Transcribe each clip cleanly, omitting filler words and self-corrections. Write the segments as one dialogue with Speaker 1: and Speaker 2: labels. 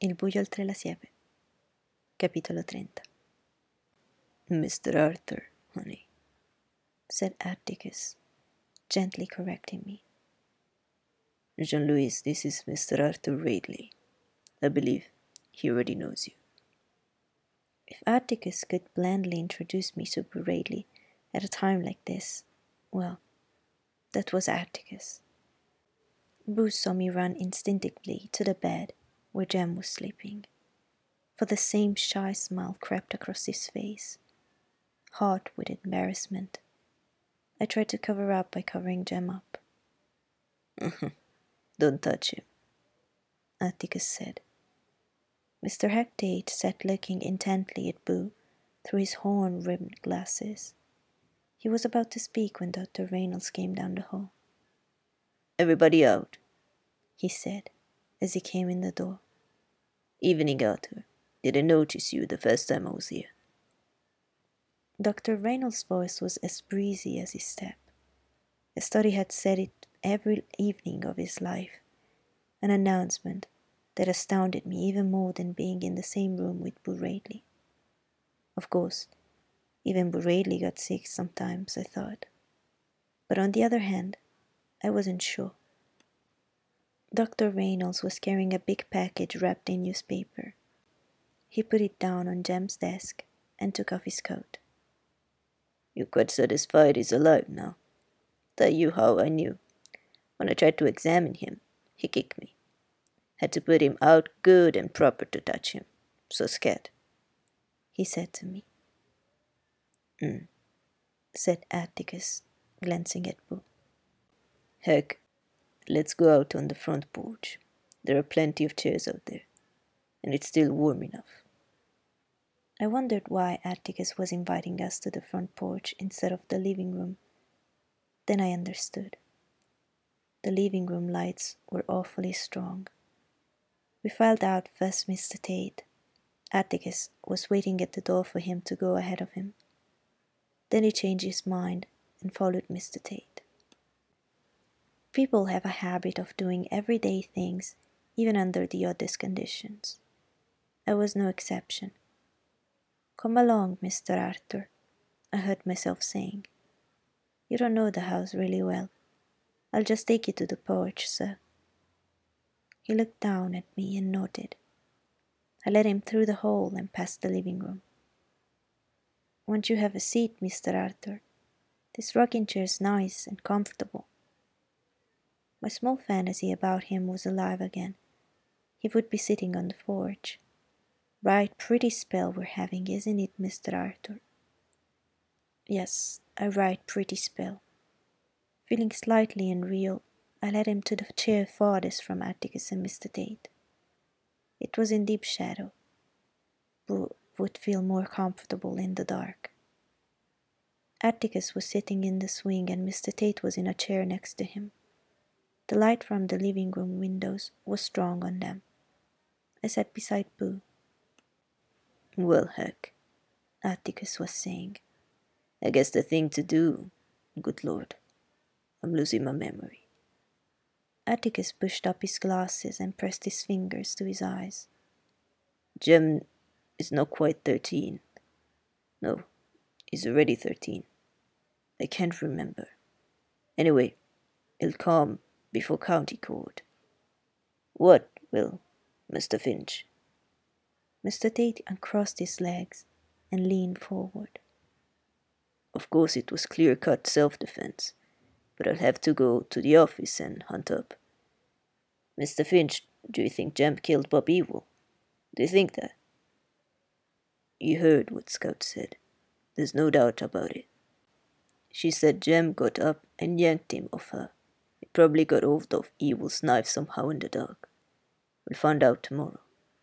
Speaker 1: Il buio oltre la siepe. Capitolo 30.
Speaker 2: Mr. Arthur, honey,
Speaker 1: said Atticus, gently correcting me.
Speaker 2: Jean-Louis, this is Mr. Arthur Radley. I believe he already knows you.
Speaker 1: If Atticus could blandly introduce me to Boo Radley at a time like this, well, that was Atticus. Boo saw me run instinctively to the bed where Jem was sleeping, for the same shy smile crept across his face. Hot with embarrassment, I tried to cover up by covering Jem up.
Speaker 2: Don't touch him,
Speaker 1: Atticus said. Mr. Hectate sat looking intently at Boo through his horn-rimmed glasses. He was about to speak when Dr. Reynolds came down the hall.
Speaker 2: Everybody out,
Speaker 1: he said, as he came in the door.
Speaker 2: Evening, Arthur. Didn't notice you the first time I was here.
Speaker 1: Dr. Reynolds' voice was as breezy as his step. As though he had said it every evening of his life, an announcement that astounded me even more than being in the same room with Boo Radley. Of course, even Boo Radley got sick sometimes, I thought. But on the other hand, I wasn't sure. Dr. Reynolds was carrying a big package wrapped in newspaper. He put it down on Jem's desk and took off his coat.
Speaker 2: You're quite satisfied he's alive now. Tell you how I knew. When I tried to examine him, he kicked me. Had to put him out good and proper to touch him. So scared,
Speaker 1: he said to me.
Speaker 2: Said Atticus, glancing at Boo. Heck, let's go out on the front porch. There are plenty of chairs out there, and it's still warm enough.
Speaker 1: I wondered why Atticus was inviting us to the front porch instead of the living room. Then I understood. The living room lights were awfully strong. We filed out past Mr. Tate. Atticus was waiting at the door for him to go ahead of him. Then he changed his mind and followed Mr. Tate. People have a habit of doing everyday things, even under the oddest conditions. I was no exception. "Come along, Mr. Arthur," I heard myself saying. "You don't know the house really well. I'll just take you to the porch, sir." He looked down at me and nodded. I led him through the hall and past the living room. "Won't you have a seat, Mr. Arthur? This rocking chair's nice and comfortable." My small fantasy about him was alive again. He would be sitting on the porch. Right pretty spell we're having, isn't it, Mr. Arthur? Yes, a right pretty spell. Feeling slightly unreal, I led him to the chair farthest from Atticus and Mr. Tate. It was in deep shadow. Boo would feel more comfortable in the dark. Atticus was sitting in the swing and Mr. Tate was in a chair next to him. The light from the living room windows was strong on them. I sat beside Boo.
Speaker 2: "Well, heck,"
Speaker 1: Atticus was saying.
Speaker 2: "I guess the thing to do, good Lord, I'm losing my memory."
Speaker 1: Atticus pushed up his glasses and pressed his fingers to his eyes.
Speaker 2: Jem is not quite 13. No, he's already 13. I can't remember. Anyway, he'll come before county court. What will, Mr. Finch?
Speaker 1: Mr. Tate uncrossed his legs and leaned forward.
Speaker 2: Of course it was clear-cut self-defense, but I'll have to go to the office and hunt up. Mr. Finch, do you think Jem killed Bob Ewell? Do you think that? You heard what Scout said. There's no doubt about it. She said Jem got up and yanked him off her. He probably got hold of Ewell's knife somehow in the dark. We'll find out tomorrow.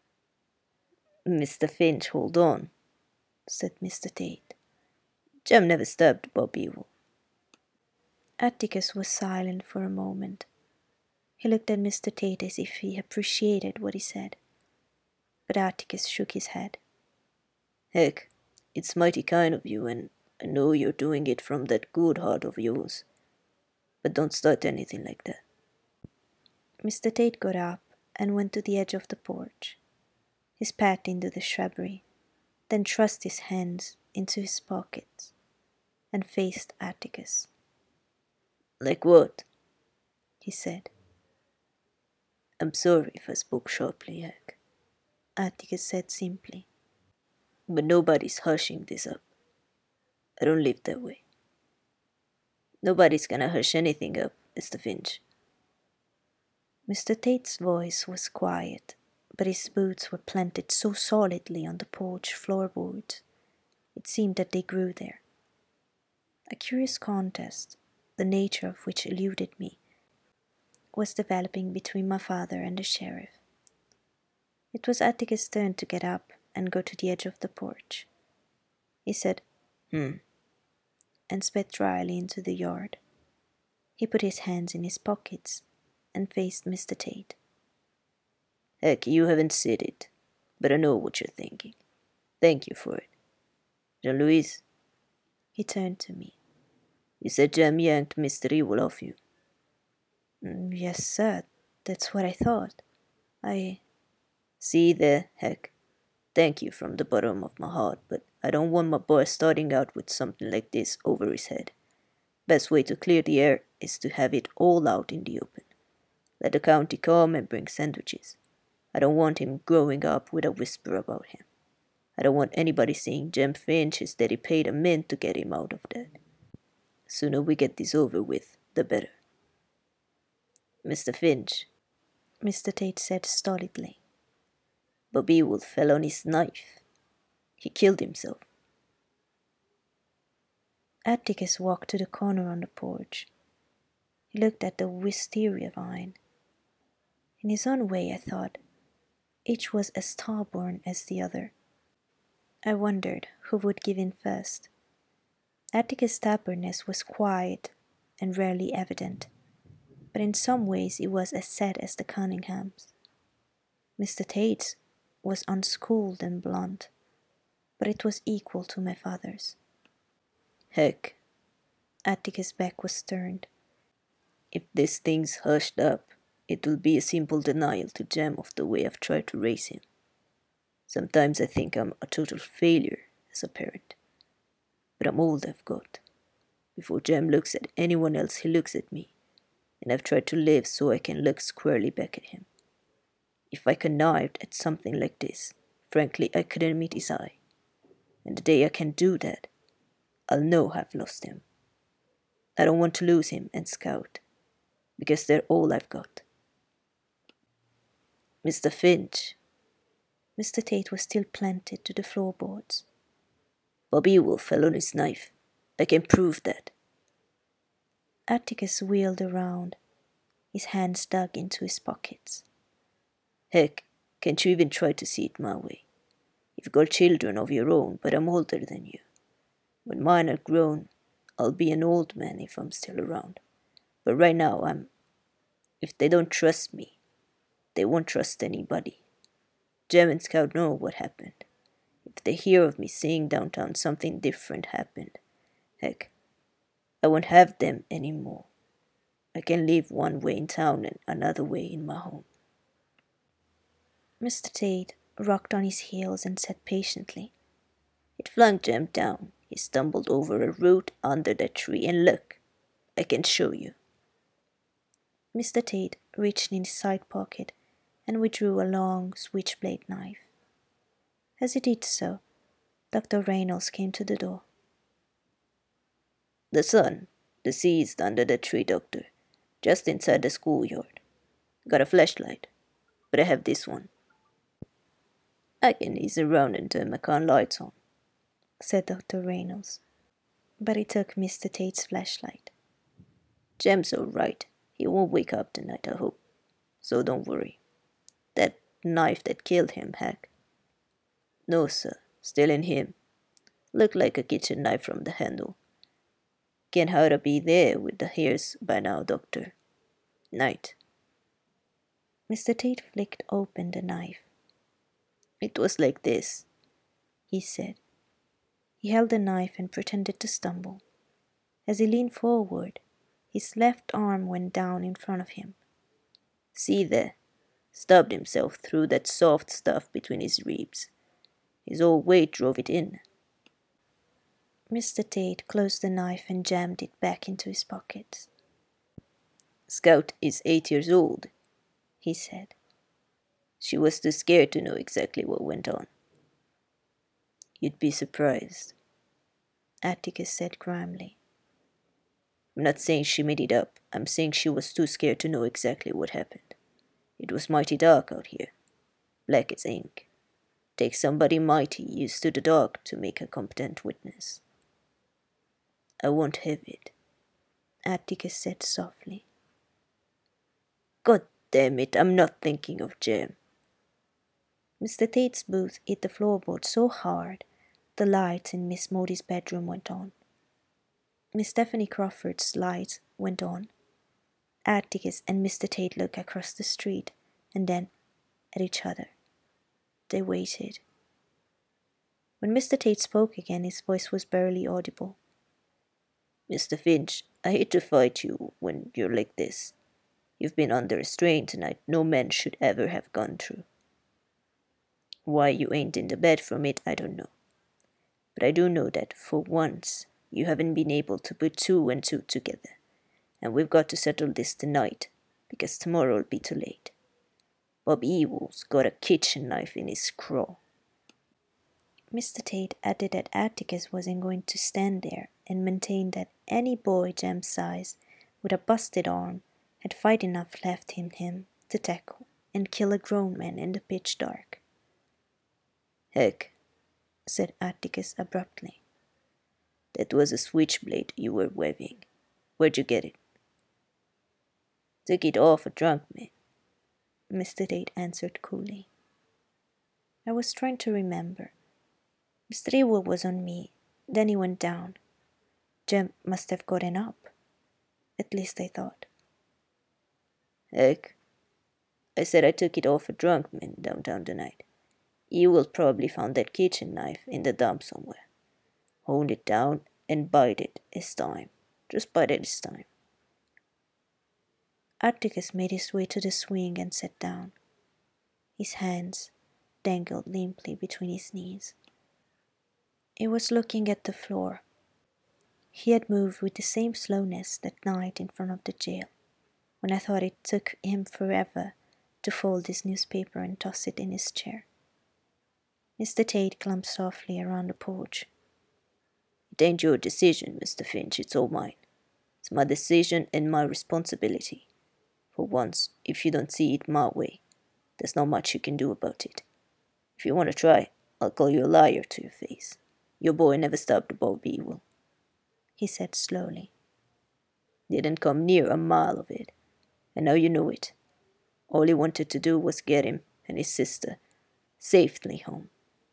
Speaker 2: Mr. Finch, hold on, said Mr. Tate. Jem never stabbed Bob Ewell.
Speaker 1: Atticus was silent for a moment. He looked at Mr. Tate as if he appreciated what he said. But Atticus shook his head.
Speaker 2: Heck, it's mighty kind of you, and I know you're doing it from that good heart of yours. But don't start anything like that.
Speaker 1: Mr. Tate got up and went to the edge of the porch. He spat into the shrubbery, then thrust his hands into his pockets and faced Atticus.
Speaker 2: Like what?
Speaker 1: He said.
Speaker 2: I'm sorry if I spoke sharply, Hank,
Speaker 1: Atticus said simply.
Speaker 2: but nobody's hushing this up. I don't live that way. Nobody's gonna hush anything up, Mr. Finch.
Speaker 1: Mr. Tate's voice was quiet, but his boots were planted so solidly on the porch floorboards, it seemed that they grew there. A curious contest, the nature of which eluded me, was developing between my father and the sheriff. It was Atticus' turn to get up and go to the edge of the porch. He said, and spat dryly into the yard. He put his hands in his pockets and faced Mr. Tate.
Speaker 2: Heck, you haven't said it, but I know what you're thinking. Thank you for it. Jean-Louis,
Speaker 1: He turned to me.
Speaker 2: you said Jem yanked Mr. Evil off you.
Speaker 1: Yes, sir, that's what I thought.
Speaker 2: See there, Heck. Thank you from the bottom of my heart, but I don't want my boy starting out with something like this over his head. Best way to clear the air is to have it all out in the open. Let the county come and bring sandwiches. I don't want him growing up with a whisper about him. I don't want anybody saying Jem Finch his daddy paid a mint to get him out of that. Sooner we get this over with, the better. Mr. Finch,
Speaker 1: Mr. Tate said stolidly.
Speaker 2: Bobby Wolf fell on his knife. He killed himself.
Speaker 1: Atticus walked to the corner on the porch. He looked at the wisteria vine. In his own way, I thought, each was as starborn as the other. I wondered who would give in first. Atticus' stubbornness was quiet and rarely evident, but in some ways it was as sad as the Cunninghams. Mr. Tate's was unschooled and blunt, but it was equal to my father's.
Speaker 2: Heck,
Speaker 1: Atticus' back was turned.
Speaker 2: if this thing's hushed up, it will be a simple denial to Jem of the way I've tried to raise him. Sometimes I think I'm a total failure as a parent, but I'm all I've got. Before Jem looks at anyone else, he looks at me, and I've tried to live so I can look squarely back at him. If I connived at something like this, frankly, I couldn't meet his eye. And the day I can do that, I'll know I've lost him. I don't want to lose him and Scout, because they're all I've got. Mr. Finch.
Speaker 1: Mr. Tate was still planted to the floorboards.
Speaker 2: Bobby Wolf fell on his knife. I can prove that.
Speaker 1: Atticus wheeled around, his hands dug into his pockets.
Speaker 2: Heck, can't you even try to see it my way? You've got children of your own, but I'm older than you. When mine are grown, I'll be an old man if I'm still around. But right now, if they don't trust me, they won't trust anybody. Jem and Scout know what happened. If they hear of me saying downtown something different happened, heck, I won't have them anymore. I can live one way in town and another way in my home.
Speaker 1: Mr. Tate rocked on his heels and said patiently,
Speaker 2: It flung Jem down. He stumbled over a root under that tree, and look, I can show you.
Speaker 1: Mr. Tate reached in his side pocket and withdrew a long switchblade knife. As he did so, Dr. Reynolds came to the door.
Speaker 2: The son, deceased under the tree, doctor, just inside the schoolyard. Got a flashlight, but I have this one. I can ease around and turn my con lights on,
Speaker 1: said Dr. Reynolds, but he took Mr. Tate's flashlight.
Speaker 2: Jem's all right. He won't wake up tonight, I hope. So don't worry. That knife that killed him, Heck. No, sir. Still in him. Looked like a kitchen knife from the handle. Can't hardly be there with the hairs by now, doctor. Night.
Speaker 1: Mr. Tate flicked open the knife.
Speaker 2: It was like this,
Speaker 1: he said. He held the knife and pretended to stumble. As he leaned forward, his left arm went down in front of him.
Speaker 2: See there, Stabbed himself through that soft stuff between his ribs. His whole weight drove it in.
Speaker 1: Mr. Tate closed the knife and jammed it back into his pocket.
Speaker 2: Scout is 8 years old, he said. She was too scared to know exactly what went on. You'd be surprised,
Speaker 1: Atticus said grimly.
Speaker 2: I'm not saying she made it up. I'm saying she was too scared to know exactly what happened. It was mighty dark out here. Black as ink. Takes somebody mighty used to the dark to make a competent witness. I won't have it,
Speaker 1: Atticus said softly.
Speaker 2: God damn it, I'm not thinking of Jem.
Speaker 1: Mr. Tate's boot hit the floorboard so hard the lights in Miss Mody's bedroom went on. Miss Stephanie Crawford's lights went on. Atticus and Mr. Tate looked across the street and then at each other. They waited. When Mr. Tate spoke again, his voice was barely audible.
Speaker 2: Mr. Finch, I hate to fight you when you're like this. You've been under a strain tonight no man should ever have gone through. Why you ain't in the bed from it, I don't know. But I do know that, for once, you haven't been able to put 2 and 2 together. And we've got to settle this tonight, because tomorrow'll be too late. Bob Ewell's got a kitchen knife in his craw.
Speaker 1: Mr. Tate added that Atticus wasn't going to stand there and maintain that any boy Jem's size with a busted arm had fight enough left in him to tackle and kill a grown man in the pitch dark.
Speaker 2: Heck,
Speaker 1: said Atticus abruptly.
Speaker 2: That was a switchblade you were waving. Where'd you get it? Took it off a drunk man,
Speaker 1: Mr. Tate answered coolly. I was trying to remember. Mr. Ewell was on me, then he went down. Jem must have gotten up. At least I thought.
Speaker 2: Heck, I said I took it off a drunk man downtown tonight. Ewell probably found that kitchen knife in the dump somewhere. Honed it down and bite it his time. Just bite it his time.
Speaker 1: Atticus made his way to the swing and sat down. His hands dangled limply between his knees. He was looking at the floor. He had moved with the same slowness that night in front of the jail, when I thought it took him forever to fold his newspaper and toss it in his chair. Mr. Tate clumped softly around the porch.
Speaker 2: It ain't your decision, Mr. Finch, it's all mine. It's my decision and my responsibility. For once, if you don't see it my way, there's not much you can do about it. If you want to try, I'll call you a liar to your face. Your boy never stabbed Bob Ewell,
Speaker 1: he said slowly.
Speaker 2: Didn't come near a mile of it, and now you know it. All he wanted to do was get him and his sister safely home.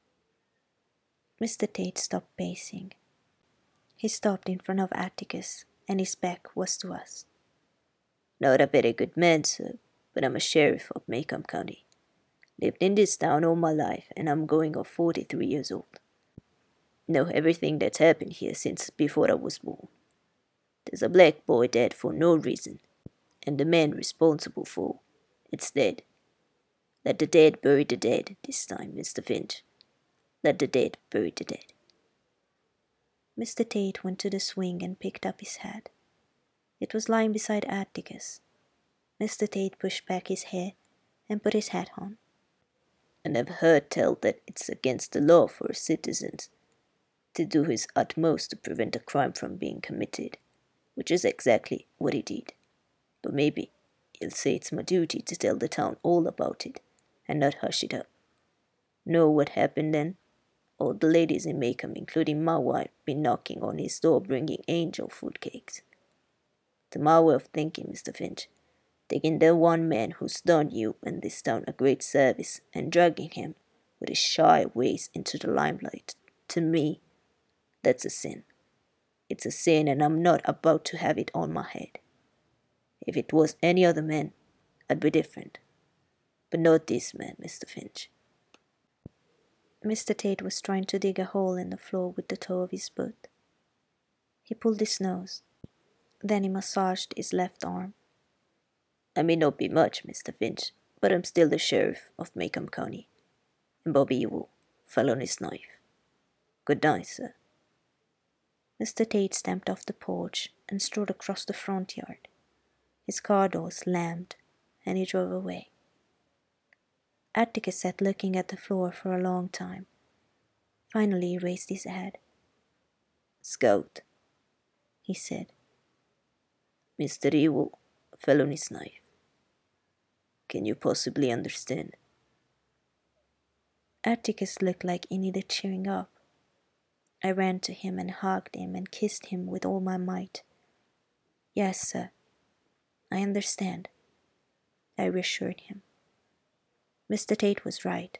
Speaker 1: Mr. Tate stopped pacing. He stopped in front of Atticus, and his back was to us.
Speaker 2: Not a very good man, sir, but I'm a sheriff of Macomb County. Lived in this town all my life, and I'm going on 43 years old. Know everything that's happened here since before I was born. There's a black boy dead for no reason, and the man responsible for it's dead. Let the dead bury the dead this time, Mr. Finch. Let the dead bury the dead.
Speaker 1: Mr. Tate went to the swing and picked up his hat. It was lying beside Atticus. Mr. Tate pushed back his hair and put his hat on.
Speaker 2: I never heard tell that it's against the law for a citizen to do his utmost to prevent a crime from being committed, which is exactly what he did. But maybe he'll say it's my duty to tell the town all about it and not hush it up. Know what happened then? All the ladies in Macomb, including my wife, been knocking on his door bringing angel food cakes. To my way of thinking, Mr. Finch, taking the one man who's done you and this town a great service and dragging him with his shy ways into the limelight, to me, that's a sin. It's a sin, and I'm not about to have it on my head. If it was any other man, I'd be different. But not this man, Mr. Finch.
Speaker 1: Mr. Tate was trying to dig a hole in the floor with the toe of his boot. He pulled his nose. Then he massaged his left arm.
Speaker 2: I may not be much, Mr. Finch, but I'm still the sheriff of Macomb County, and Bobby Ewell fell on his knife. Good night, sir.
Speaker 1: Mr. Tate stamped off the porch and strode across the front yard. His car door slammed, and he drove away. Atticus sat looking at the floor for a long time. Finally he raised his head.
Speaker 2: Scout,
Speaker 1: he said.
Speaker 2: Mr. Ewell fell on his knife. Can you possibly understand?
Speaker 1: Atticus looked like he needed cheering up. I ran to him and hugged him and kissed him with all my might. Yes, sir, I understand, I reassured him. Mr. Tate was right.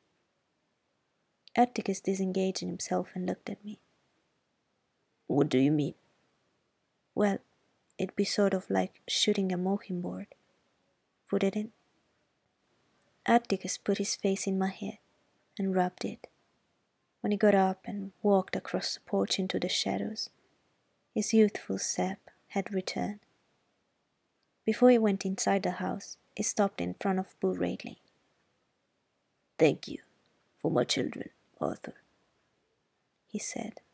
Speaker 1: Atticus disengaged himself and looked at me.
Speaker 2: What do you mean?
Speaker 1: Well, it'd be sort of like shooting a mockingbird, wouldn't it? Atticus put his face in my hair and rubbed it. When he got up and walked across the porch into the shadows, his youthful sap had returned. Before he went inside the house, he stopped in front of Bull Radley.
Speaker 2: Thank you for my children, Arthur,
Speaker 1: he said.